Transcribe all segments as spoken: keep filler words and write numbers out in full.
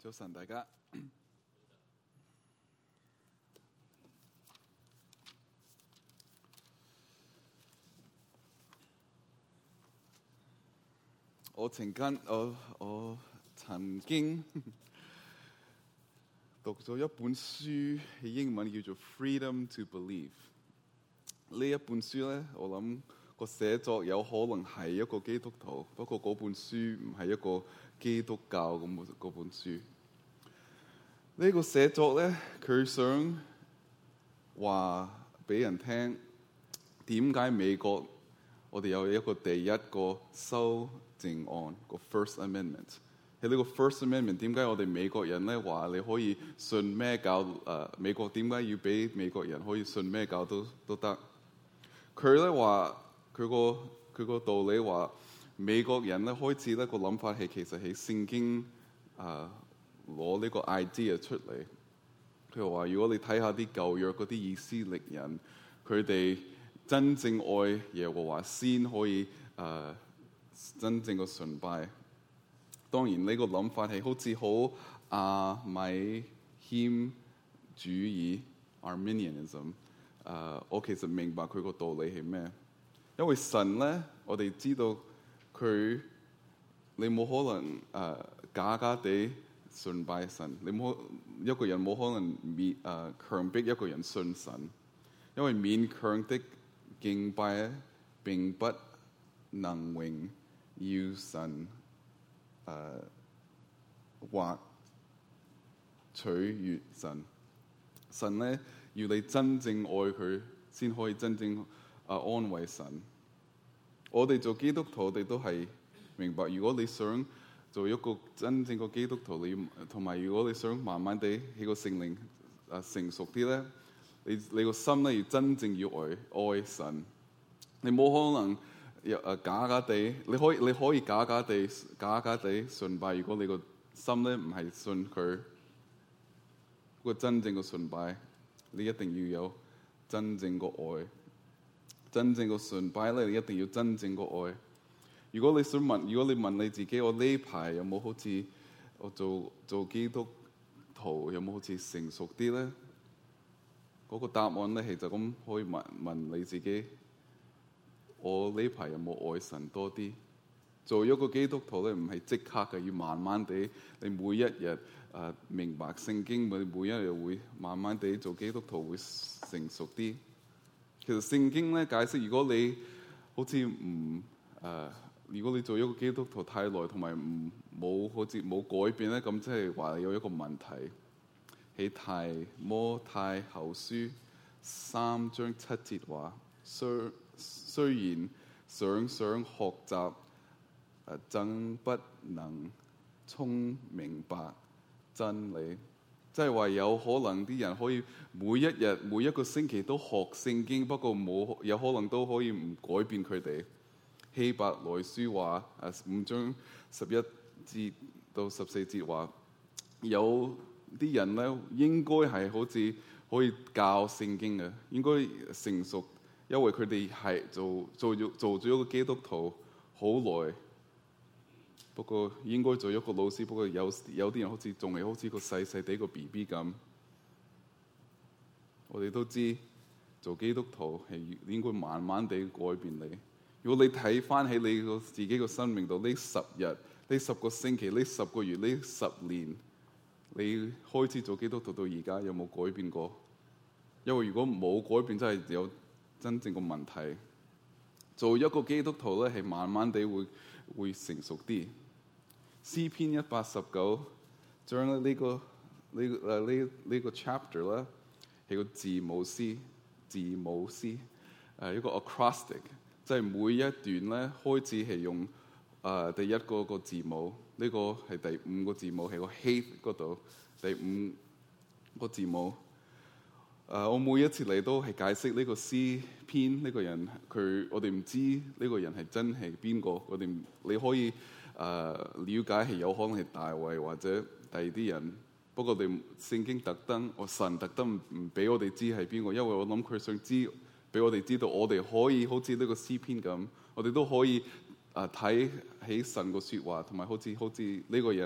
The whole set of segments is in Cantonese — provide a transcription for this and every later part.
早晨，大家。我曾經我我曾經讀咗一本書，係英文叫做《Freedom to Believe》。呢一本書咧，我諗個寫作有可能係一個基督徒，不過嗰本書唔係一個基督教咁嗰本書。呢個寫作咧，佢想話俾人聽點解美國我哋有一個第一個修正案個 First Amendment。喺呢個 First Amendment 點解我哋美國人咧話你可以信咩教？誒、呃、美國點解要俾美國人可以信咩教都都得？佢咧話佢個佢個道理話美國人咧開始咧個諗法係其實喺聖經啊。呃攞呢個 idea 出嚟，佢話：如果你睇下啲舊約嗰啲以色列人，佢哋真正愛耶和華先可以誒、呃、真正嘅崇拜。當然呢個諗法係好似好阿米謙主義 Arminianism。誒、呃，我其實明白佢個道理係咩？因為神咧，我哋知道佢你冇可能誒、呃、假假地信拜神，你冇一個人冇可能勉誒強迫一個人信神，因為勉強的敬拜並不能榮耀神誒、呃、或取悅神。神咧要你真正愛佢，先可以真正誒、呃、安慰神。我哋做基督徒，我哋都係明白，如果你想做一個真正嘅基督徒，你同埋如果你想慢慢地喺個聖靈啊成熟啲咧，你你個心咧要真正要愛愛神。你冇可能又誒假假地，你可以你可以假假地假假地崇拜。如果你個心咧唔係信佢個真正嘅崇拜，你一定要有真正嘅愛。真正嘅崇拜咧，你一定要真正嘅愛。如果你想問，如果你問你自己，我呢排有冇好似我做做基督徒有冇好似成熟啲咧？嗰個答案咧係就咁可以問問你自己，我呢排有冇愛神多啲？做一個基督徒咧，唔係即刻嘅，要慢慢地，你每一日誒、呃、明白聖經，每每一日會慢慢地做基督徒會成熟啲。其實聖經咧解釋，如果你好似唔誒。呃如果你做一個基督徒太耐，同埋唔冇好似冇改變咧，咁即係話有一個問題。喺提摩太後書三章七節話：雖雖然想想學習，誒，真不能聰明白真理。即係話有可能啲人可以每一日每一個星期都學聖經，不過冇有可能都可以唔改變佢哋。希伯來書話誒五章十一節到十四節話，有啲人咧應該係好似可以教聖經嘅，應該成熟，因為佢哋係做做咗做咗一個基督徒好耐。不過應該做一個老師，不過有有啲人好似仲係好似個細細地個 B B 咁。我哋都知做基督徒係應該慢慢地改變你。如果你睇翻起你個自己個生命度，呢十日、呢十個星期、呢十個月、呢十年，你開始做基督徒到而家有冇改變過？因為如果冇改變，真係有真正個問題。做一個基督徒咧，係慢慢地會會成熟啲。詩篇一百十九章咧、呢個，呢、呢個誒呢呢個 chapter 咧係個字母詩，字母詩誒一個 acrostic。即係每一段咧開始係用誒、呃、第一個個字母，呢、這個係第五個字母，係個 hate 嗰度第五個字母。誒、呃，我每一次嚟都係解釋呢個詩篇呢個人，佢我哋唔知呢個人係真係邊個，我哋你可以誒、呃、了解係有可能係大衛或者第二啲人。不過我哋聖經特登，我神特登唔俾我哋知係邊個，因為我諗佢想知。俾我哋知道，我哋可以好似呢個詩篇咁，我哋都可以啊睇起神個説話，同埋好似好似呢個人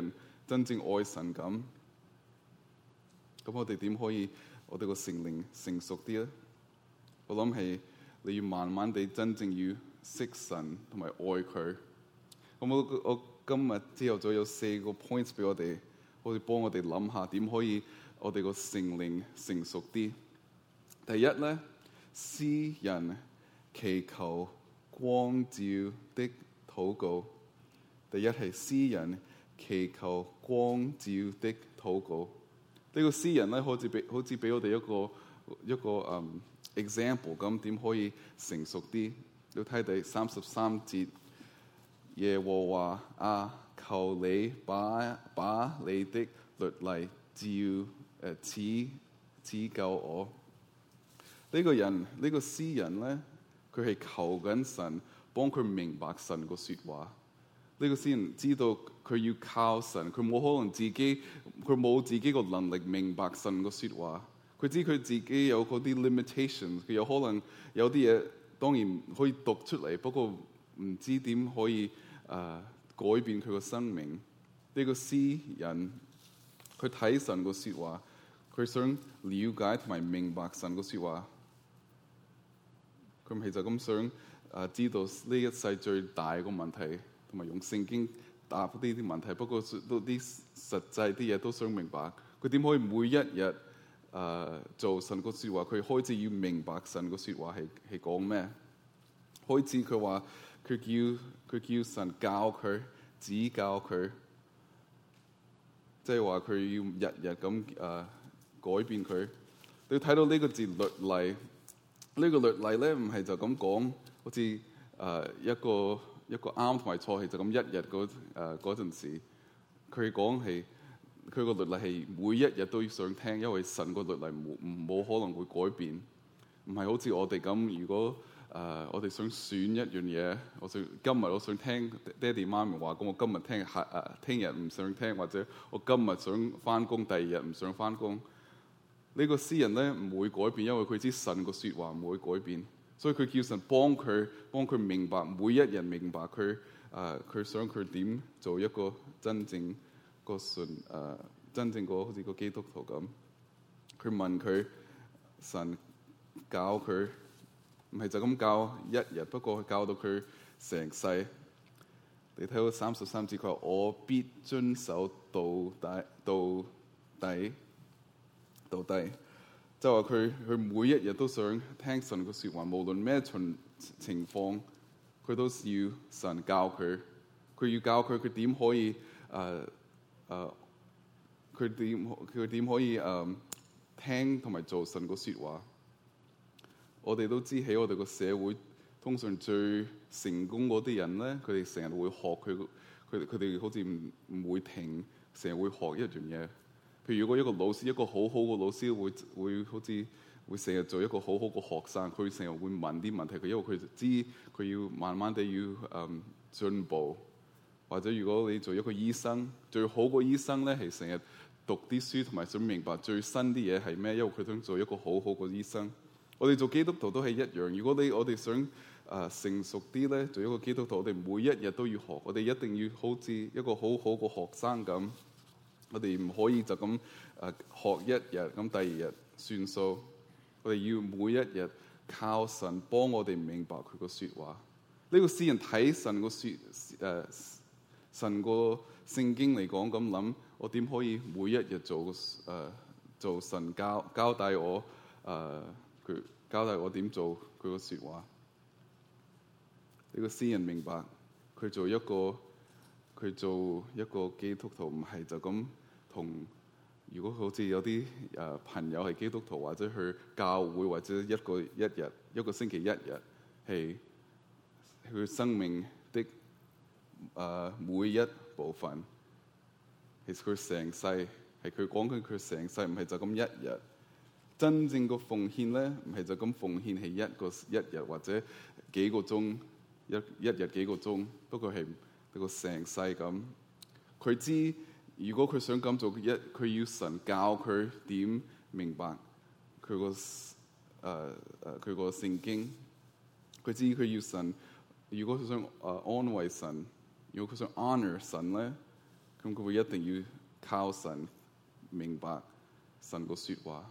真正愛神咁。咁我哋點可以我哋個聖靈成熟啲咧？我諗係你要慢慢地真正要識神同埋愛佢。咁我我今日朝頭早有四個 points 俾我哋，好似幫我哋諗下點可以我哋個聖靈成熟啲。第一咧，詩人祈求光照的禱告。第一係詩人祈求光照的禱告。呢個詩人咧，好似俾好似俾我哋一個一個嗯、um, example 咁，點可以成熟啲？要睇第三十三節，耶和華啊，求你把把你的律例照誒指指教我。呢、這個人呢、這個詩人咧，佢係求緊神幫佢明白神個説話。呢、這個詩人知道佢要靠神，佢冇可能自己，佢冇自己個能力明白神個説話。佢知佢自己有嗰啲 limitations， 佢有可能有啲嘢當然可以讀出嚟，不過唔知點可以誒、呃、改變佢個生命。呢、這個詩人佢睇神個説話，佢想了解同埋明白神個説話。佢唔係就咁想誒、呃、知道呢一世最大個問題，同埋用聖經答呢啲問題。不過都啲實際啲嘢都想明白。佢點可以每一日誒、uh, 做神個説話？佢開始要明白神個説話係係講咩？開始佢話佢叫佢叫神教佢指教佢，即係話佢要日日咁誒、uh, 改變佢。你睇到呢個字律例，呢、這個律例咧唔係就咁講，好似誒、uh, 一個一個啱同埋錯係就咁一日嗰誒嗰陣時，佢講係。佢個律例係每一日都要想聽，因為神個律例冇冇可能會改變，唔係好似我哋咁。如果誒、呃、我哋想選一樣嘢，我想今日我想聽爹哋媽咪話，咁我今日聽下誒聽日唔想聽，或者我今日想翻工，第二日唔想翻工。呢、這個詩人咧唔會改變，因為佢知神個説話唔會改變，所以佢叫神幫佢幫佢明白，每一日明白佢誒佢想佢點做一個真正個信誒、呃、真正個好似個基督徒咁。佢問佢，神教佢唔係就咁教一日，不過教到佢成世。你睇到三十三節，佢話我必遵守到底到底到底，就話佢佢每一日都想聽神個説話，無論咩情情況，佢都要神教佢。佢要教佢，佢點可以誒？呃誒，佢點佢點可以誒、uh, 聽同埋做神個説話？我哋都知喺我哋個社會，通常最成功嗰啲人咧，佢哋成日會學佢，佢佢哋好似唔唔會停，成日會學一樣嘢。譬如如果一個老師，一個好好嘅老師會會好似會成日做一個好好嘅學生，佢成日會問啲問題，佢因為佢知佢要慢慢地要誒、um, 進步。或者如果你做一個醫生，最好個醫生咧係成日讀啲書同埋想明白最新啲嘢係咩，因為佢想做一個好好個醫生。我哋做基督徒都係一樣。如果你我哋想誒、呃、成熟啲咧，做一個基督徒，我哋每一日都要學。我哋一定要好似一個好好個學生咁。我哋唔可以就咁誒、呃、學一日，咁第二日算數。我哋要每一日靠神幫我哋明白佢個説話。呢、這個詩人睇神個説誒。呃神個聖經嚟講咁諗，我點可以每一日做誒、呃、做神交交代我誒佢、呃、交代我點做佢個説話？呢、這個詩人明白佢做一個佢做一個基督徒唔係就咁同。如果好似有啲誒、呃、朋友係基督徒，或者去教會，或者一個一日一個星期一日係佢生命的。誒、uh, 每一部分，其實佢成世係佢講緊佢成世，唔係就咁一日。真正個奉獻咧，唔係就咁奉獻係一個一日或者幾個鐘，一一日幾個鐘。不過係一個成世咁。佢知如果佢想咁做，一佢要神教佢點明白佢個誒誒佢個聖經。佢知佢要神，如果佢想誒、uh, 安慰神。如果佢想 honor 神咧，咁佢會一定靠神明白神個説話。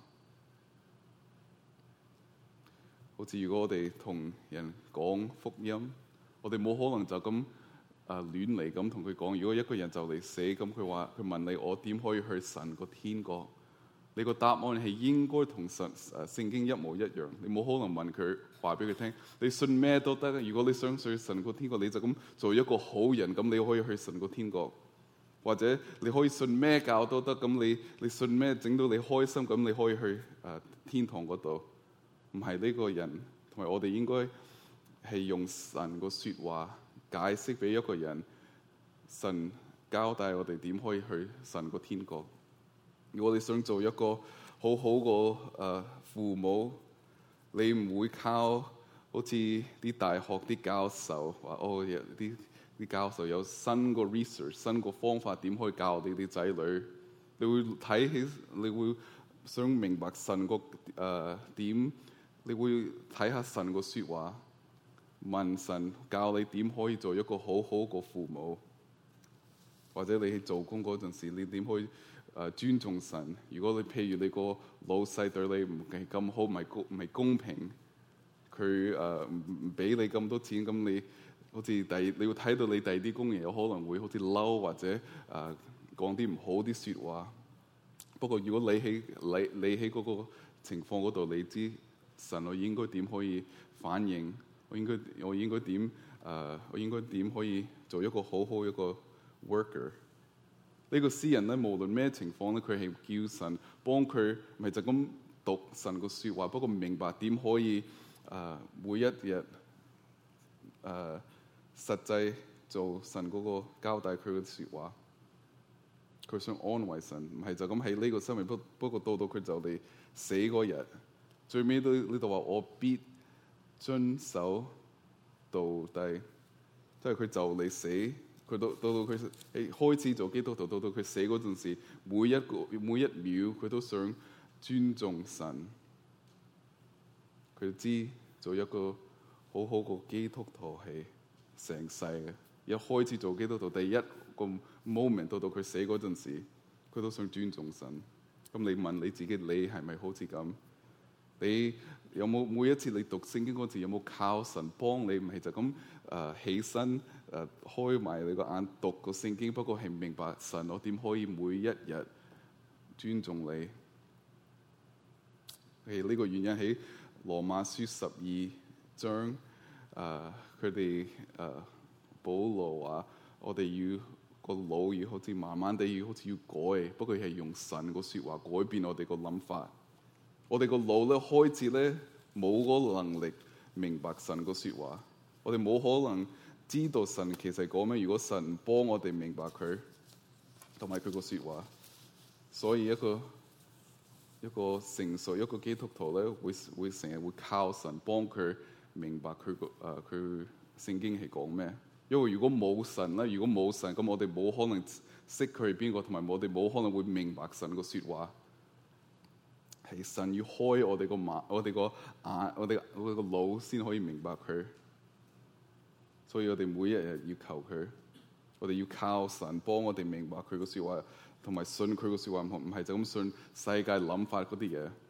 好似如果我哋同人講福音，我哋冇可能就咁啊亂嚟咁同佢講。如果一個人就嚟死，咁佢話佢問你我點可以去神個天國？你個答案係應該同神誒聖經一模一樣。你冇可能問佢話俾佢聽，你信咩都得。如果你想去神個天國，你就咁做一個好人，咁你可以去神個天國。或者你可以信咩教都得，咁你你信咩整到你開心，咁你可以去誒、呃、天堂嗰度。唔係呢個人，同埋我哋應該係用神個説話解釋俾一個人，神交代我哋點可以去神個天國。如果你想做一個好好個誒父母，你唔會靠好似啲大學啲教授話哦，啲啲教授有新個 research、新個方法點可以教你啲仔女。你會睇起，你會想明白神個誒點。你會睇下神個説話，問神教你點可以做一個好好個父母，或者你去做工嗰陣時，你點可以誒、呃、尊重神？如果你譬如你個老細對你唔係咁好，唔係公唔係公平，佢誒唔唔俾你咁多錢，咁你好似第你要睇到你第二啲工人有可能會好似嬲或者誒、呃、講啲唔好啲説話。不過如果你喺你你喺嗰個情況嗰度，你知。神，我應該點可以反應？我應該我應該點？誒、呃，我應該點可以做一個好好一個 worker？呢個詩人咧，無論咩情況咧，佢係叫神幫佢，唔係就咁讀神個説話，不過明白點可以誒、呃、每一日誒、呃、實際做神嗰個交代佢嘅説話。佢想安慰神，唔係就咁喺呢個生命，不不過到到佢就嚟死嗰日。最尾都呢度話我必遵守到底，即係佢就嚟死，佢到到到佢開始做基督徒，到到佢死嗰陣時，每一個每一秒佢都想尊重神。佢知做一個好好個基督徒係成世嘅。一開始做基督徒，第一個 moment 到到佢死嗰陣時，佢都想尊重神。咁你問你自己，你係咪好似咁？你有冇每一次你讀聖經嗰時，有冇靠神幫你？唔係就咁誒、呃、起身誒、呃、開埋你個眼讀個聖經，不過係明白神，我點可以每一日尊重你？係呢個原因喺羅馬書十二章誒，佢哋誒保羅話：我哋要個腦要好似慢慢地要好似要改，不過係用神個説話改變我哋個諗法。我哋個腦咧開始咧冇嗰個能力明白神個説話，我哋冇可能知道神其實講咩。如果神幫我哋明白佢同埋佢個説話，所以一個一個成熟一個基督徒咧，會會成日會靠神幫佢明白佢個誒佢聖經係講咩。因為如果冇神咧，如果冇神，咁我哋冇可能識佢係邊個，同埋我哋冇可能會明白神個説話。係神要開我哋個眼，我哋個眼，我哋我哋個腦先可以明白佢。所以我哋每一日要求佢，我哋要靠神幫我哋明白佢個説話，同埋信佢個説話，唔係就咁信世界諗法嗰啲嘢。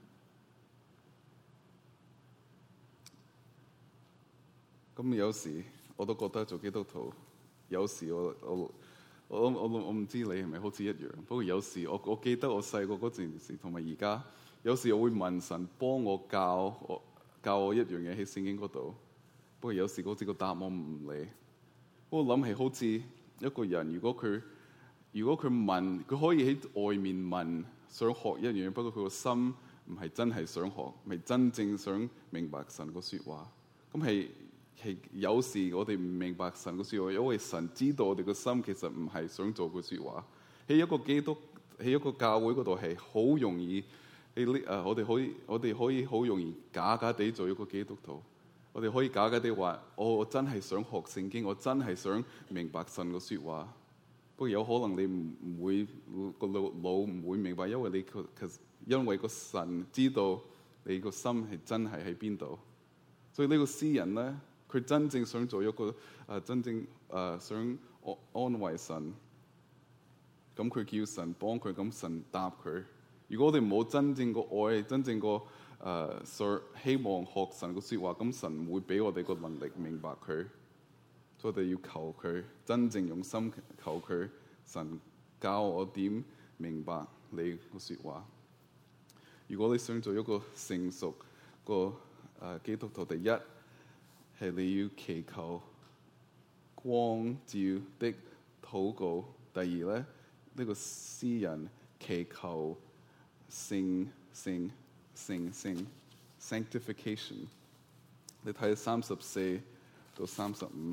咁有時我都覺得做基督徒，有時我我我我我唔知你係咪好似一樣。不過有時我我記得我細個嗰陣時，同埋而家。有時我會問神幫我教我教我一樣嘢喺聖經嗰度，不過有時好似個答案唔嚟。我諗係好似一個人，如果佢如果佢問，佢可以喺外面問，想學一樣嘢，不過佢個心唔係真係想學，唔係真正想明白神個説話。咁係係有時我哋唔明白神個説話，因為神知道我哋個心其實唔係想做個説話。喺一個基督喺一個教會嗰度係好容易。誒、uh, 我哋可以，我哋可以好容易假假地做一個基督徒。我哋可以假假地話、哦：我真係想學聖經，我真係想明白神個説話。不過有可能你唔唔會個腦腦唔會明白，因為你其實因為個神知道你個心係真係喺邊度。所以呢個詩人咧，佢真正想做一個誒、呃、真正誒、呃、想安安慰神。 咁佢叫神幫佢，咁神答佢。如果我哋冇真正個愛，真正個誒想希望學神個説話，咁神唔會俾我哋個能力明白佢。所以我哋要求佢，真正用心求佢，神教我點明白你個説話。如果你想做一個成熟個誒、呃、基督徒，第一係你要祈求光照的禱告。第二咧，呢、這個詩人祈求聖聖聖聖 sanctification。你睇三十四到三十五，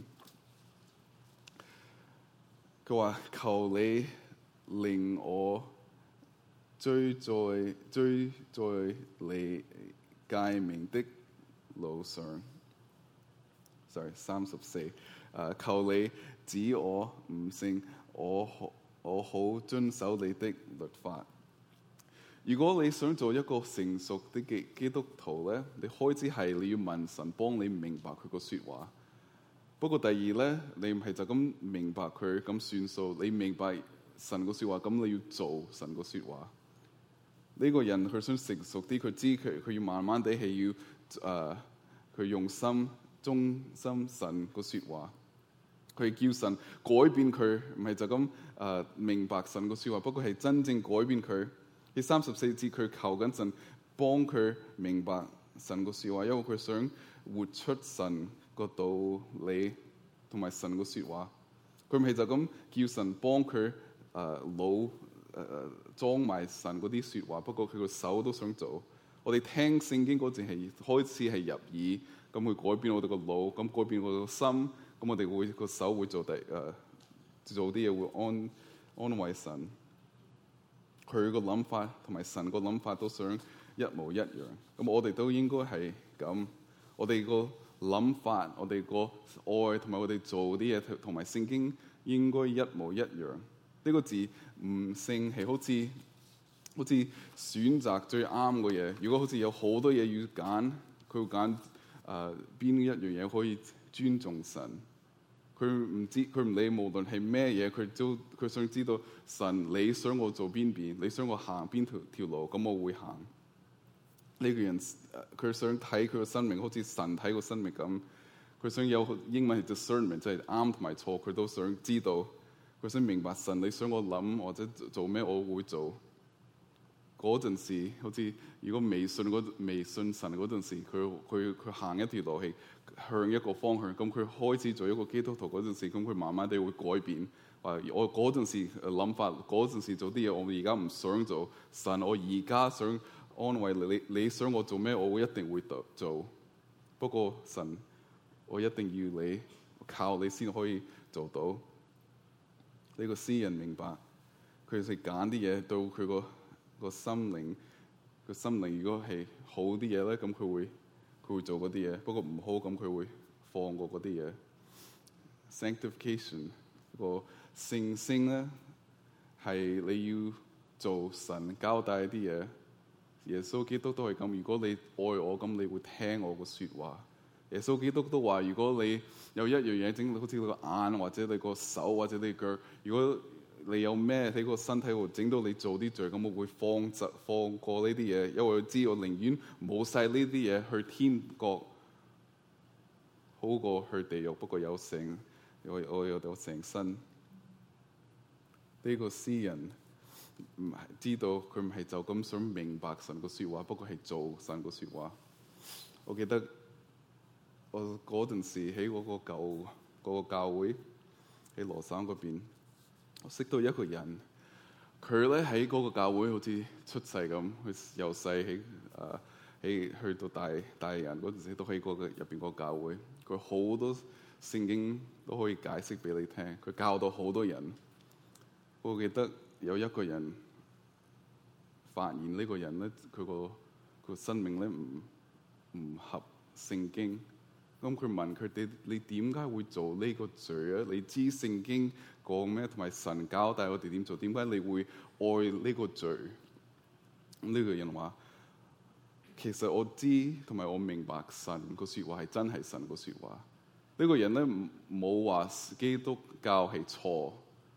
佢話求你令我追在追在你誡命的路上。sorry， 三十四，誒求你指我悟性，我好我好遵守你的律法。如果你想做一個成熟的基基督徒咧，你開始係你要問神幫你明白佢個説話。不過第二咧，你唔係就咁明白佢咁算數，你明白神個説話，咁你要做神個説話。呢、這個人佢想成熟啲，佢知佢佢要慢慢地係要誒，佢、呃、用心忠心神個説話。佢叫神改變佢，唔係就咁誒、呃、明白神個説話，不過係真正改變佢。喺三十四節，佢求緊神幫佢明白神個説話，因為佢想活出神個道理同埋神個説話。佢唔係就咁叫神幫佢誒腦誒裝埋神嗰啲説話，不過佢個手都想做。我哋聽聖經嗰陣係開始係入耳，咁會改變我哋個腦，咁改變我哋個心，咁我哋會個手會做第誒、呃、做啲嘢會安安慰神。佢個諗法同埋神個諗法都想一模一樣，咁我哋都應該係咁。我哋個諗法，我哋個愛同埋我哋做啲嘢同埋聖經應該一模一樣。呢、這個字悟性係好似好似選擇最啱嘅嘢。如果好似有好多嘢要揀，佢會揀誒邊一樣嘢可以尊重神。佢唔知，佢唔理，無論係咩嘢，佢都佢想知道神你想我做邊邊，你想我行邊條條路，咁我會行。呢、這個人佢想睇佢個生命好似神睇個生命咁，佢想有英文係 discernment，即係啱同埋錯，佢都想知道。佢想明白神你想我諗或者做咩，我會做。嗰陣時，好似如果未信嗰未信神嗰陣時，佢佢佢行一條路係向一個方向，咁佢開始做一個基督徒嗰陣時，咁佢慢慢地會改變。話我嗰陣時諗法，嗰陣時做啲嘢，我而家唔想做。神，我而家想安慰你，你想我做咩，我會一定會做。不過神，我一定要你靠你先可以做到。呢、這個詩人明白，佢係揀啲嘢到佢個個心靈個心靈，如果係好啲嘢咧，咁佢會佢會做嗰啲嘢；不過唔好，咁佢會放過嗰啲嘢。Sanctification 個聖聖咧，係你要做神交代啲嘢。耶穌基督都係咁。如果你愛我，咁你會聽我個説話。耶穌基督都話：如果你有一樣嘢整到好似你個眼，或者你個手，或者你腳，如果你有咩喺個身體度整到你做啲罪，咁我會放執放過呢啲嘢，因為我知我寧願冇晒呢啲嘢去天國，好過去地獄。不過有成我我有有成身。呢、這個詩人唔係知道佢唔係就咁想明白神個説話，不過係做神個説話。我記得我嗰陣時喺嗰個舊嗰個教會喺羅省嗰邊。我識到一個人，佢咧喺嗰個教會好似出世咁，佢由細喺誒喺去到大大人嗰陣時，都喺嗰個入邊個教會。佢好多聖經都可以解釋俾你聽，佢教到好多人。我記得有一個人發現呢個人咧，佢個個生命咧唔唔合聖經。咁佢問佢哋：你點解會做呢個罪啊？你知聖經講咩？同埋神交代我哋點做？點解你會愛呢個罪？咁呢個人話：其實我知同埋我明白神個説話係真係神個説話。呢個人咧冇話基督教係錯，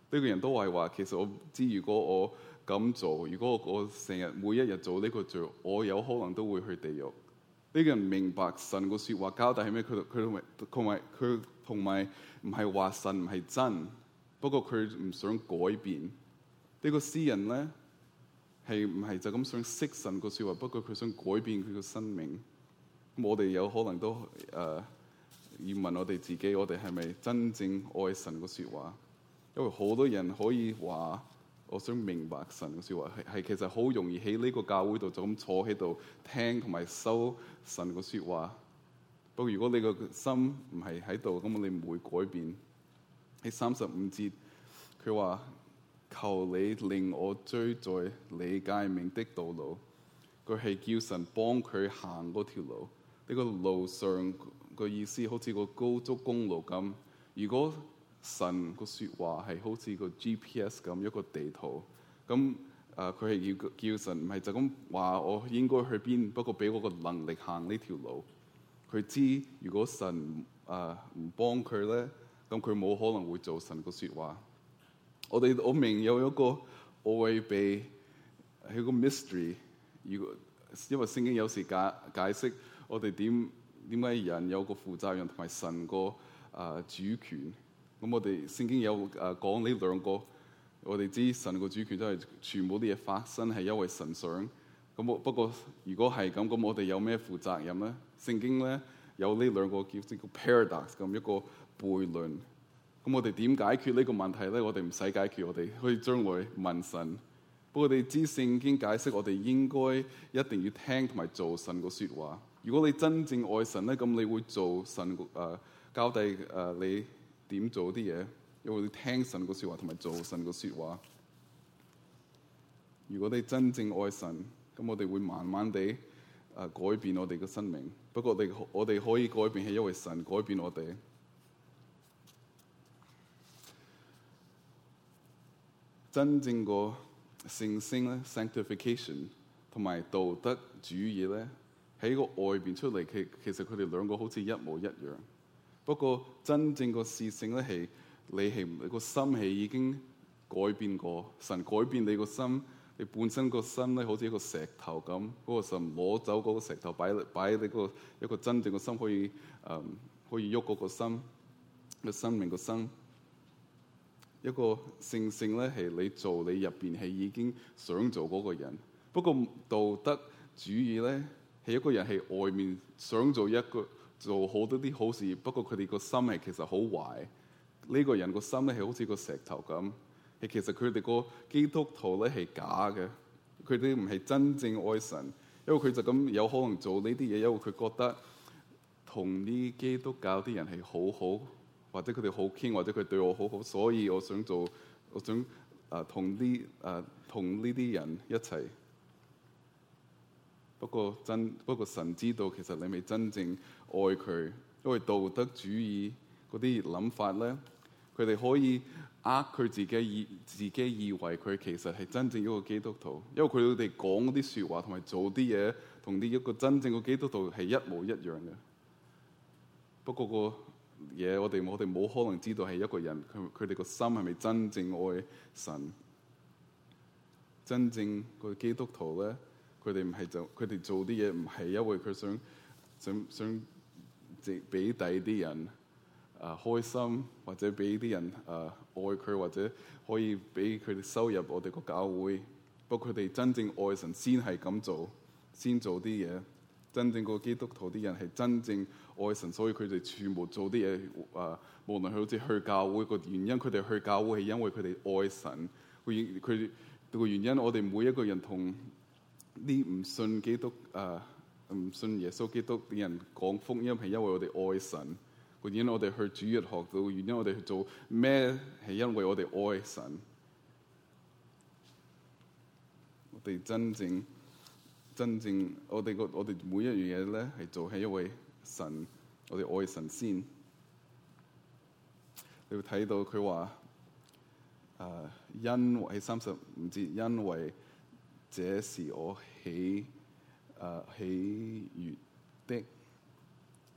個人都係話，其實我知如果我咁做，如果我我成日每一日做呢個罪，我有可能都會去地獄。呢、這個人明白神個説話交代係咩？佢佢同埋佢同埋唔係話神唔係真，不過佢唔想改變。呢、這個詩人咧係唔係就咁想識神個説話？不過佢想改變佢個生命。咁我哋有可能都誒、呃、要問我哋自己，我哋係咪真正愛神個説話？因為好多人可以話，我想明白神嘅説話，係係其實好容易喺呢個教會度就咁坐喺度聽同埋收神嘅説話。不過如果你個心唔係喺度，咁你唔會改變。喺三十五節，佢話：求你令我追在你誡命的道路。佢係叫神幫佢行嗰條路。呢、這個路上個意思好似個高速公路咁。如果神個説話係好似個 G P S 咁一個地圖，咁誒佢係要叫神唔係就咁話我應該去邊，不過俾我個能力行呢條路。佢知如果神誒唔、呃、幫佢咧，咁佢冇可能會做神個説話。我哋我明有一個愛秘係個 mystery。如果因為聖經有時解解釋我哋點點解人有個負責任同埋神個誒、呃、主權。咁我哋聖經有誒講呢兩個，我哋知神個主權都係全部啲嘢發生係因為神想。咁我不過如果係咁，咁我哋有咩負責任咧？聖經咧有呢兩個叫叫 paradox 咁一個悖論。咁我哋點解決呢個問題咧？我哋唔使解決，我哋可以將來問神。不過我哋知聖經解釋，我哋應該一定要聽同埋做神個説話。如果你真正愛神咧，咁你會做神誒、呃、交代誒、呃、你點做啲嘢，因為你聽神個説話同埋做神個説話。如果你真正愛神，咁我哋會慢慢地誒、呃、改變我哋嘅生命。不過我哋我哋可以改變係因為神改變我哋。真正個聖性咧 sanctification 同埋道德主義咧喺個外邊出嚟，其其實佢哋兩個好似一模一樣。不過真正個事性咧係你係你個心係已經改變過，神改變你個心，你本身個心咧好似一個石頭咁，嗰、那個神攞走嗰個石頭擺擺喺你個一個真正個心可以誒、嗯、可以喐嗰個心個生命個心。一個聖性咧係你做你入邊係已經想做嗰個人。不過道德主義咧係一個人係外面想做一個。做好多啲好事，不過佢哋個心係其實好壞。呢、這個人個心咧係好似個石頭咁，係其實佢哋個基督徒咧係假嘅，佢哋唔係真正愛神，因為佢就咁有可能做呢啲嘢，因為佢覺得同啲基督教啲人係好好，或者佢哋好傾，或者佢對我好好，所以我想做，我想誒同啲誒同呢啲人一齊。不過真不過神知道其實你未真正愛佢，因為道德主義嗰啲諗法咧，佢哋可以呃佢自己以自己以為佢其實係真正一個基督徒，因為佢哋講嗰啲説話同埋做啲嘢同啲一個真正嘅基督徒係一模一樣嘅。不過個嘢我哋我哋冇可能知道係一個人佢佢哋個心係咪真正愛神？真正個基督徒咧？佢哋唔係就佢哋做啲嘢唔係因為佢想想想即俾第啲人啊、呃、開心，或者俾啲人啊、呃、愛佢，或者可以俾佢哋收入我哋個教會。不過佢哋真正愛神先係咁做，先做啲嘢。真正個基督徒啲人係真正愛神，所以佢哋全部做啲嘢啊，無論佢好似去教會個原因，佢哋去教會係因為佢哋愛神。佢佢個原因，我哋每一個人同啲唔信基督啊，唔信耶穌基督啲人講福音係因為我哋愛神。個原因我哋去主日學到，原因我哋去做咩係因為我哋愛神。我哋真正真正我哋個我哋每一樣嘢咧係做係因為神，我哋愛神先。你會睇到佢話誒，因為喺三十五節，因為這是我喜誒、呃、喜悅的，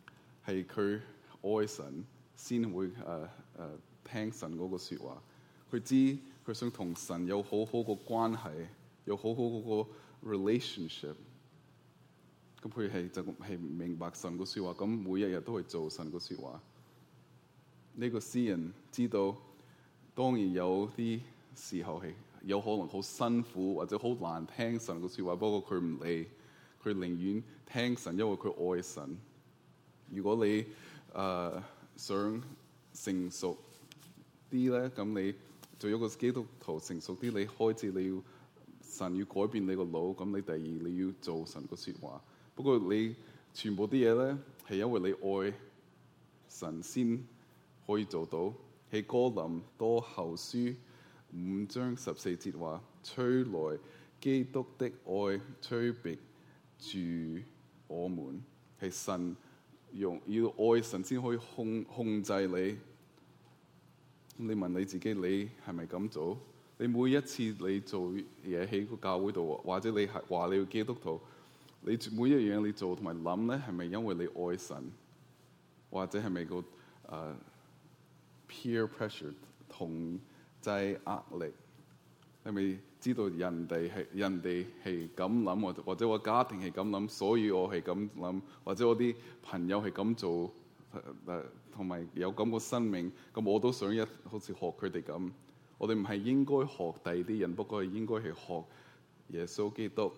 係佢愛神先會誒誒、呃呃、聽神嗰個説話。 佢知佢想同神有好好個關係，有好好嗰個 relationship。咁佢係就係明白神個説話，咁每一日都係做神個説話。呢、這個詩人知道，當然有啲時候係有可能好辛苦或者好難聽神個説話，不過佢唔理，佢寧願聽神，因為佢愛神。如果你誒、呃、想成熟啲咧，咁你做一個基督徒成熟啲，你開始你要神要改變你個腦，咁你第二你要做神個説話。不過你全部啲嘢咧，係因為你愛神先可以做到。喺哥林多後書五章十四節話：吹來基督的愛，催逼住我們。係神用要愛神先可以控控制你。你問你自己，你係咪咁做？你每一次你做嘢喺個教會度，或者你係話你要基督徒，你每一樣你做同埋諗咧，係咪因為你愛神，或者係咪個誒、uh, peer pressure 同濟壓力？係咪知道人哋係人哋係咁諗，或者或者我家庭係咁諗，所以我係咁諗，或者我啲朋友係咁做，誒同埋有咁個生命，咁我都想一好似學佢哋咁。我哋唔係應該學第二啲人，不過係應該係學耶穌基督。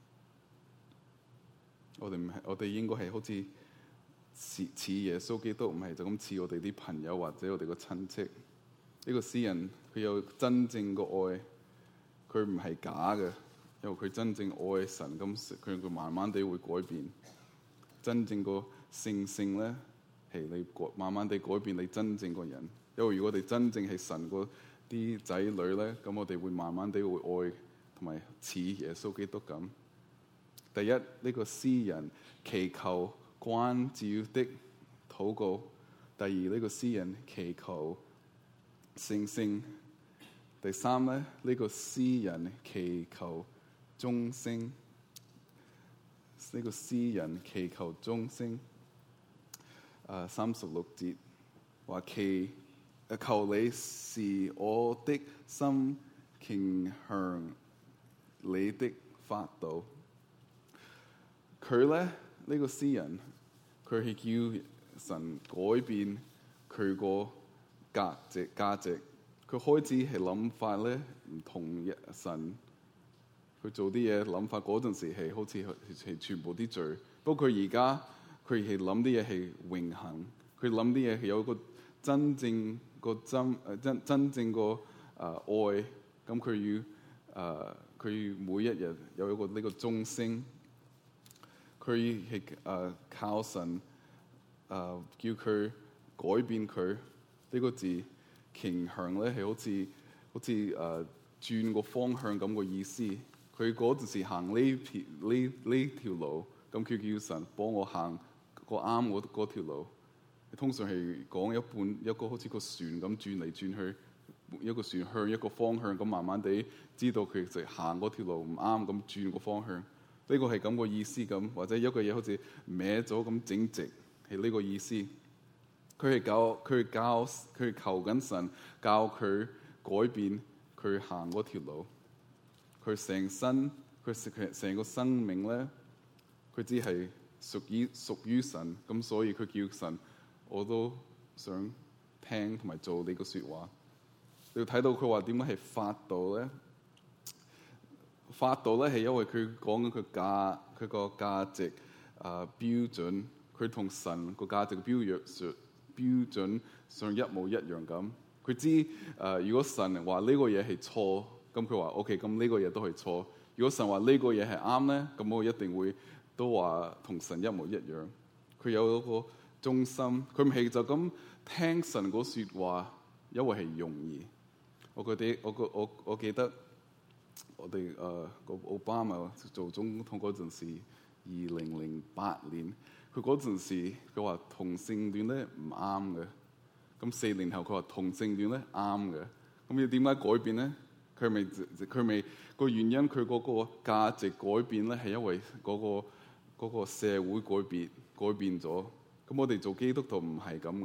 我哋唔係，我哋應該係好似似似耶穌基督，唔係就咁似我哋啲朋友或者我哋個親戚。呢、這個詩人佢有真正個愛，佢唔係假嘅，因為佢真正愛神，咁佢佢慢慢地會改變。真正個聖性咧，係你改慢慢地改變你真正個人。因為如果我哋真正係神個啲仔女咧，咁我哋會慢慢地會愛同埋似耶穌基督咁。第一，呢、這個詩人祈求關照的禱告；第二，呢、這個詩人祈求聖性；第三咧，呢、這個詩人祈求忠心；呢、這個詩人祈求忠心。誒三十六節話祈。求你使我的心傾向你的法度。佢咧呢、這個詩人，佢係叫神改變佢個價值價值。佢開始係諗法咧唔同一神，佢做啲嘢諗法嗰陣時係好似係全部啲罪。不過佢而家佢係諗啲嘢係永恆，佢諗啲嘢係有個真正。個真誒真真正個誒、呃、愛，咁佢要誒佢每一日有一個呢個忠心，佢係誒靠神誒、呃、叫佢改變佢呢、這個字傾向咧係好似好似誒、呃、轉個方向咁個意思。佢嗰陣時行呢條呢呢條路，咁佢叫神幫我行個啱嗰嗰條路。通常係講一半一個好似個船咁轉嚟轉去，一個船向一個方向咁，慢慢地知道佢就行嗰條路唔啱咁轉個方向。呢、這個係咁個意思咁，或者一個嘢好似歪咗咁整直，係呢個意思。佢係教佢係教佢係求緊神教佢改變佢行嗰條路。佢成身佢成成個生命咧，佢只係屬於屬於神，咁所以佢叫神。我都想聽同埋做你個説話。你要睇到佢話點解係法度咧？法度咧係因為佢講緊佢價佢個價值啊、呃、標準，佢同神個價值標約上標準上一模一樣咁。佢知誒、呃，如果神話呢個嘢係錯，咁佢話 OK，咁呢個嘢都係錯。如果神話呢個嘢係啱咧，咁我一定會都話同神一模一樣。佢有嗰個忠心，佢唔係就咁聽神嗰説話，因為係容易。我覺得我個我我記得我哋誒個奧巴馬做總統嗰陣時，二零零八年，佢嗰陣時佢話同性戀咧唔啱嘅。咁四年後佢話同性戀咧啱嘅。咁要點解改變咧？佢咪佢咪個原因，佢嗰個價值改變咧，係因為嗰個嗰個社會改變改變咗。咁我哋做基督徒唔係咁嘅，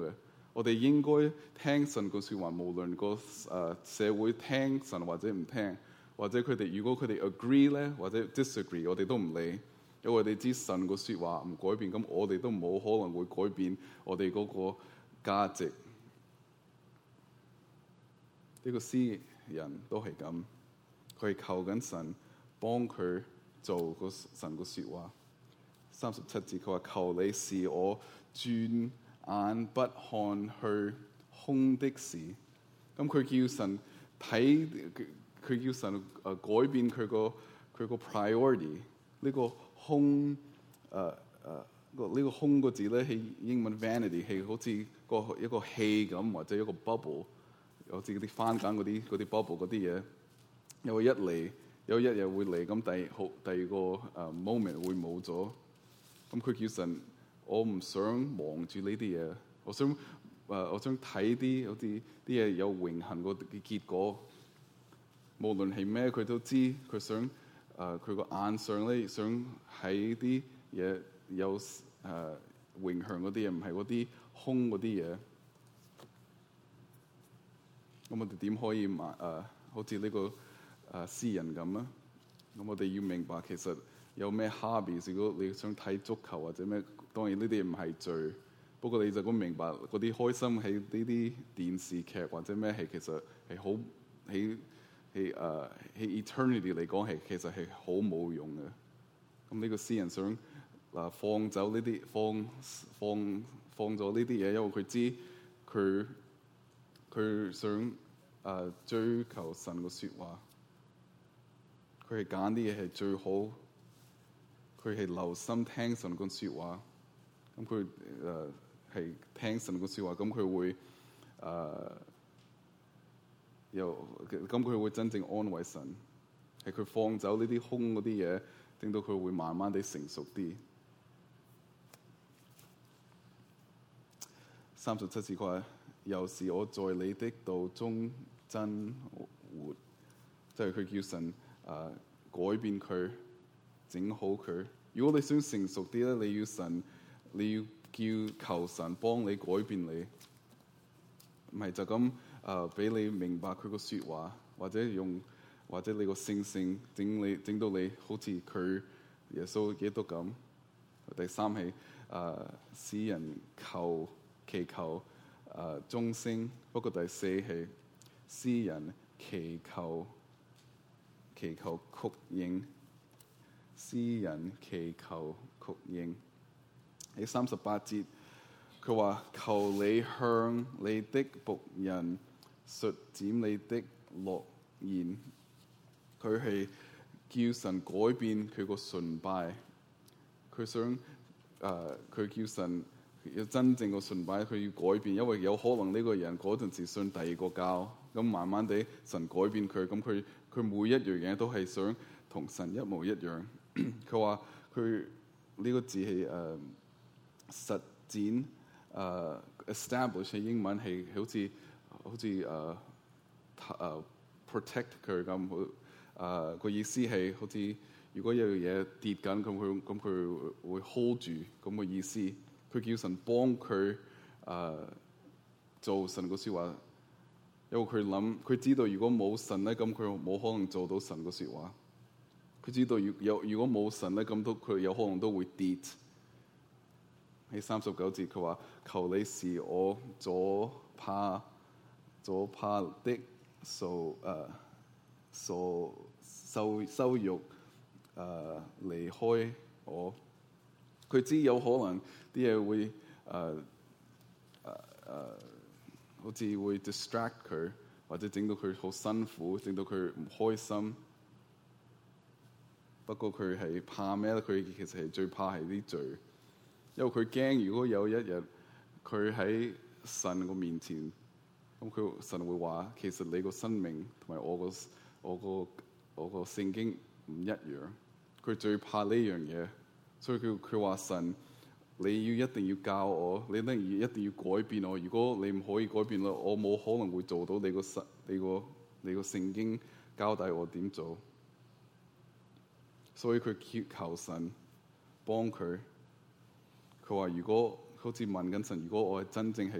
我哋應該聽神個説話，無論個誒社會聽神或者唔聽，或者佢哋如果佢哋 agree 咧，或者 disagree，我哋都唔理，因為我哋知神個説話唔改變，咁我哋都冇可能會改變我哋嗰個價值。呢個詩人都係咁，佢係求緊神幫佢做個神個説話。三十七節佢話：求你使我轉眼不看去空的事。咁佢叫神睇，佢叫神誒改變佢個佢個 priority。呢個空誒誒個呢個空個字咧，喺英文 vanity 係好似個一個氣咁，或者一個 bubble， 好似嗰啲番梘嗰啲嗰啲 bubble 嗰啲嘢。有一嚟，有一日會嚟，咁第好第二個誒 moment 會冇咗。咁佢叫神，我唔想望住呢啲嘢，我想誒、呃，我想睇啲好似啲嘢有永恆個結果。無論係咩，佢都知佢想誒，佢、呃、個眼上咧想喺啲嘢有誒、呃、永恆嗰啲嘢，唔係嗰啲空嗰啲嘢。咁我哋點可以買誒、呃，好似呢、這個誒詩、呃、人咁啊？咁我哋要明白其實。有咩 hobby？ 如果你想睇足球或者咩，當然呢啲唔係罪。不過你就咁明白嗰啲開心喺呢啲電視劇或者咩係其實係好喺喺誒喺 eternity 嚟講係其實係好冇用嘅。咁呢個詩人想嗱放走呢啲放放放咗呢啲嘢，因為佢知佢佢想誒、呃、追求神嘅説話，佢係揀啲嘢係最好。佢係留心聽神個説話，咁佢誒係聽神個説話，咁佢會誒又咁佢會真正安慰神，係佢放走呢啲空嗰啲嘢，令到佢會慢慢地成熟啲。三十七節佢話：又是我在你的道中真活，即係佢叫神誒、呃、改變佢。整好佢。如果你想成熟啲咧，你要神，你要叫求神幫你改變你，唔係就咁誒俾你明白佢個説話，或者用或者你個性性整你整到你好似佢耶穌基督咁。第三係誒詩人求祈求誒鐘聲，不過第四係詩人祈求祈求曲應。詩人祈求曲應。喺三十八節，佢話：求你向你的僕人述展你的諾言。佢係叫神改變佢個崇拜。佢想誒，佢、呃、叫神要真正個崇拜，佢要改變，因為有可能呢個人嗰陣時信第二個教，咁慢慢地神改變佢，咁佢佢每一樣嘢都係想同神一模一樣。佢話佢呢個字係誒、uh, 實踐誒、uh, establish 喺英文係好似好似誒誒 protect 佢咁，誒、uh, 個意思係好似如果有樣嘢跌緊，咁佢咁佢會 hold 住咁個意思。佢叫神幫佢誒、uh, 做神個説話，因為佢諗佢知道如果冇神咧，咁佢冇可能做到神個説話。佢知道，如有如果冇神咧，咁都佢有可能都會跌。喺三十九節，佢話：求你使我左怕左怕的受誒受羞羞辱誒離開我。佢知有可能啲嘢會誒誒誒，好似會 distract 佢，或者整到佢好辛苦，整到佢唔開心。不過佢係怕咩咧？佢其實係最怕係啲罪，因為佢驚如果有一日佢喺神個面前，咁佢神會話：其實你個生命同埋我個我個我個聖經唔一樣。佢最怕呢樣嘢，所以佢佢話神，你要一定要教我，你一定要一定要改變我。如果你唔可以改變我，我冇可能會做到你個神你個你個聖經交代我點做。所以佢求神幫佢。佢話：如果好似問緊神，如果我係真正係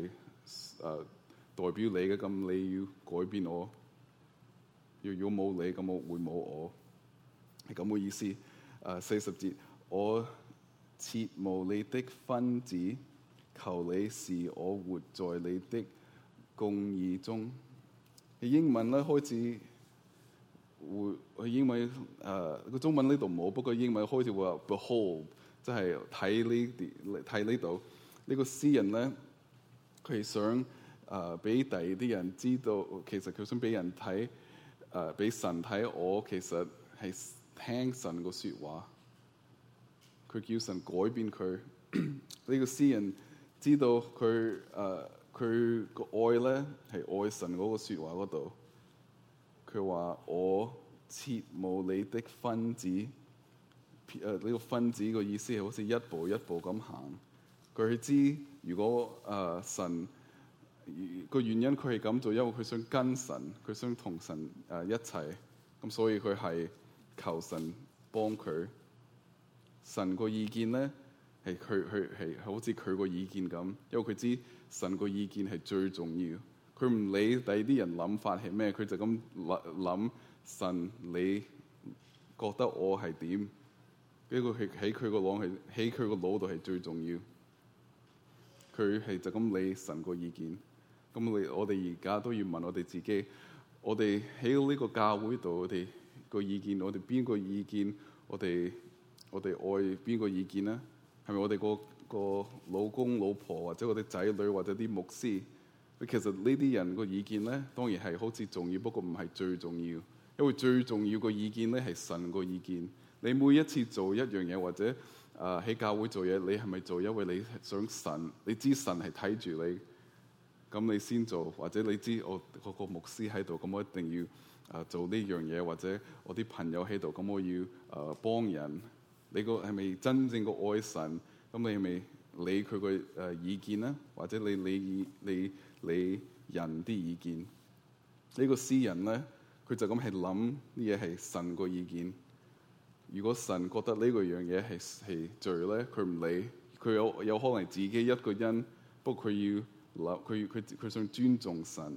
呃、代表你嘅，咁你要改變我。如果冇你，咁我會冇我，係咁嘅意思。誒、呃、四十節，我切慕你的訓詞，求你使我活在你的公義中。英文咧開始會，英文誒個、呃、中文呢度冇，不過英文開始會話 behold，即係睇呢啲睇呢度。呢個詩人咧，佢係想誒俾第二啲人知道，其實佢想俾人睇誒俾神睇，我其實係聽神個説話。佢叫神改變佢。呢個詩人知道佢誒佢個愛咧係愛神嗰個説話嗰度。佢話我切慕你的訓詞。誒呢個訓詞個意思係好似一步一步咁行。佢知如果誒、呃、神個原因佢係咁做，因為佢想跟神，佢想同神誒、呃、一齊，咁所以佢係求神幫佢。神個意見咧係佢佢係好似佢個意見咁，因為佢知神個意見係最重要。佢唔理第二啲人諗法係咩，佢就咁諗神，你覺得我係點？呢個係喺佢個腦係喺佢個腦度係最重要。佢係就咁理神個意見。咁你我哋而家都要問我哋自己，我哋喺呢個教會度，我哋個意見，我哋邊個意見？我哋我哋愛邊個意見咧？係咪我哋個個老公老婆，或者我哋仔女，或者啲牧師？其實呢啲人個意見咧，當然係好似重要，不過唔係最重要。因為最重要個意見咧係神個意見。你每一次做一樣嘢，或者啊喺、呃、教會做嘢，你係咪做因為你想神？你知神係睇住你，咁你先做。或者你知我個個牧師喺度，咁我一定要啊、呃、做呢樣嘢。或者我啲朋友喺度，咁我要啊、呃、幫人。你個係咪真正個愛神？咁你係咪理佢個誒意見咧？或者你理你理人啲意見？呢、這個詩人咧，佢就咁係諗啲嘢係神個意見。如果神覺得呢個樣嘢係係罪咧，佢唔理。佢有有可能自己一個人，不過佢要諗，佢佢佢想尊重神。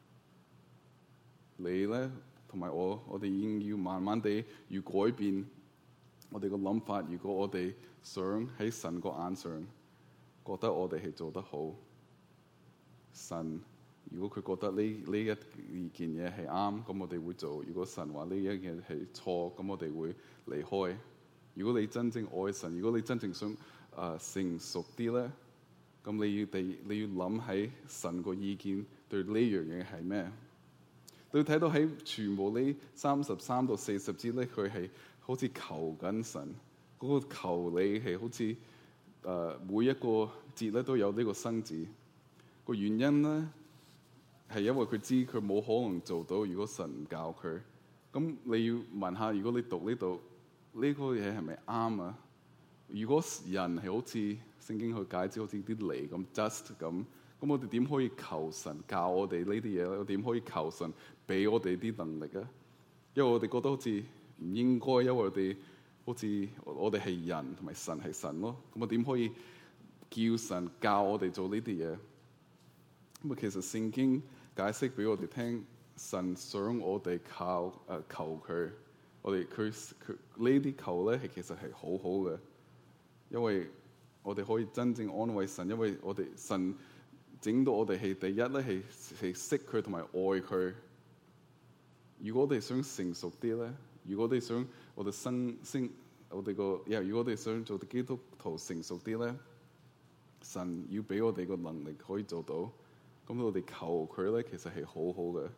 你咧同埋我，我哋已經要慢慢地要改變我哋個諗法。如果我哋想喺神個眼上覺得我哋係做得好，神如果佢覺得呢呢一件嘢係啱，咁我哋會做。如果神話呢一件係錯，咁我哋會離開。如果你真正愛神，如果你真正想啊、呃、成熟啲咧，咁你要地你要諗喺神個意見對呢樣嘢係咩？你睇到喺全部呢三十三到四十節咧，佢係好似求緊神。嗰、那個求你係好似誒、呃、每一個節咧都有呢個生字。個原因咧係因為佢知佢冇可能做到，如果神唔教佢。咁你要問下，如果你讀呢度呢個嘢係咪啱啊？如果人係好似聖經去解釋，好似啲泥咁 dust 咁，咁我哋點可以求神教我哋呢啲嘢咧？我點可以求神俾我哋啲能力啊？因為我哋覺得好似唔應該，因為我哋好似我哋係人同埋神係神咯。咁我點可以叫神教我哋做呢啲嘢？咁啊，其實聖經解釋俾我哋聽，神想我哋靠誒、呃、求佢，我哋佢佢呢啲求咧係其實係好好嘅，因為我哋可以真正安慰神，因為我哋神整到我哋係第一咧係係識佢同埋愛佢。如果我哋想成熟啲咧，如果我哋想我哋生升我哋個，如果我哋想做基督徒成熟啲咧，神要俾我哋個能力可以做到。咁我哋求佢咧，其實係好好嘅。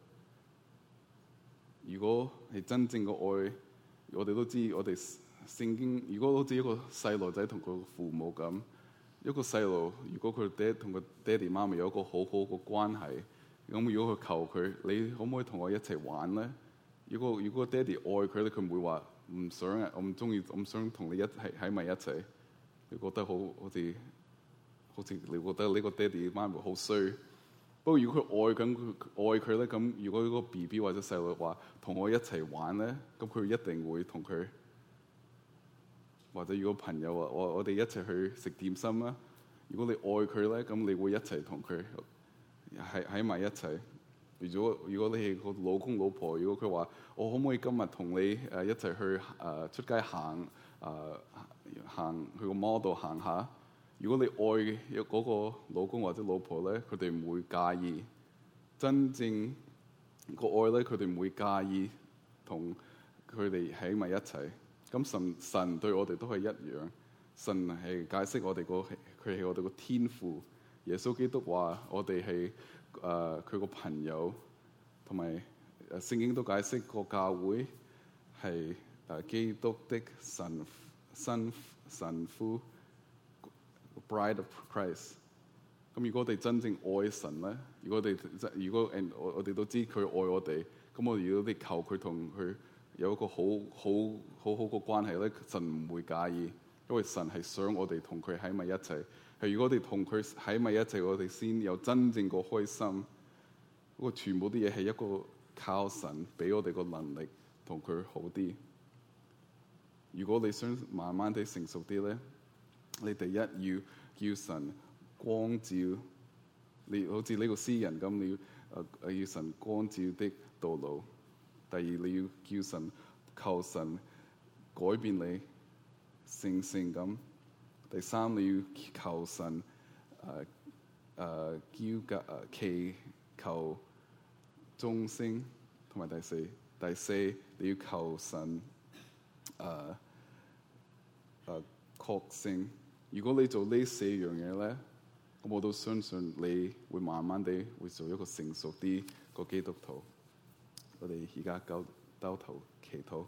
如果係真正嘅愛，我哋都知，我哋聖經如果好似一個細路仔同佢父母咁，一個細路如果佢爹同佢爹哋媽咪有一個好好嘅關係，咁如果佢求佢，你可唔可以同我一齊玩咧？如果如果爹哋愛佢咧，佢唔會話唔想啊，我唔中意，我唔想同你一齊喺埋一齊。你覺得好好似好似你覺得呢個爹哋媽咪好衰。不過如果佢愛緊佢愛佢咧，咁如果嗰個 B B 或者細路話同我一齊玩咧，咁佢一定會同佢。或者如果朋友話我我哋一齊去食點心啦，如果你愛佢咧，咁你會一齊同佢。 喺喺埋一齊。如果如果你係個老公老婆，如果佢話我可唔可以今日同你誒一齊去誒、呃、出街行誒、呃、行去個 mall 度行下？如果你愛有嗰個老公或者老婆咧，佢哋唔會介意。真正個愛咧，佢哋唔會介意同佢哋喺埋一齊。咁神神對我哋都係一樣。神係解釋我哋個佢係我哋個天父。耶穌基督話我哋係誒佢個朋友，同埋誒聖經都解釋個教會係誒基督的神新神夫 Bride of Christ。咁如果我哋真正愛神咧，如果我哋如果誒我我哋都知佢愛我哋，咁我哋如果哋求佢同佢有一個好好好好個關係咧，神唔會介意，因為神係想我哋同佢喺埋一齊。係如果我哋同佢喺埋一齊，我哋先有真正個開心。嗰個全部啲嘢係一個靠神俾我哋個能力同佢好啲。如果你想慢慢地成熟啲咧，你第一要叫神光照你，好似呢個詩人咁，你要誒誒要神光照的道路。第二你要叫神求神改變你成聖咁。第三你要求神誒誒叫嘅誒祈求眾星，同埋第四第四你要求神誒誒確信。如果你做呢四樣嘢咧，咁我都相信你會慢慢地會做一個成熟啲個基督徒。我哋而家交兜頭祈禱。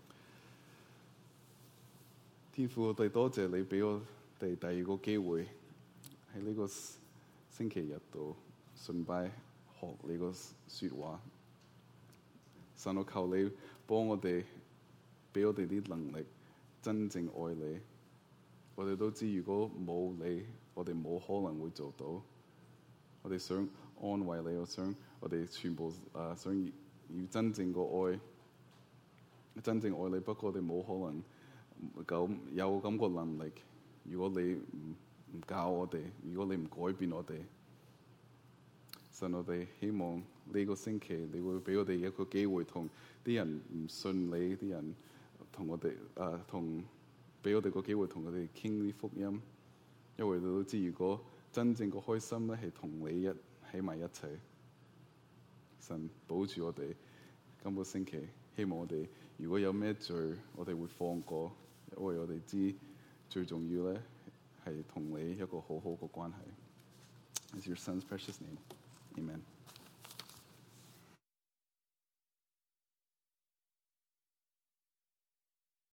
天父，我哋多謝你俾我哋第二個機會喺呢個星期日度順拜學你個説話。神，我求你幫我哋，俾我哋啲能力真正愛你。我哋都知，如果冇你，我哋冇可能會做到。我哋想安慰你，我想我哋全部誒、呃、想要，要真正個愛，真正愛你。不過我哋冇可能。咁有咁個能力，如果你唔唔教我哋，如果你唔改變我哋，神，我哋希望呢個星期你會俾我哋一個機會，同啲人唔信你啲人同我哋誒同俾我哋個機會同佢哋傾啲福音，因為你都知，如果真正個開心咧係同你一喺埋一齊。神保住我哋今個星期，希望我哋如果有咩罪，我哋會放過。因為我哋知最重要咧係同你一個好好嘅關係。It's your son's precious name. Amen.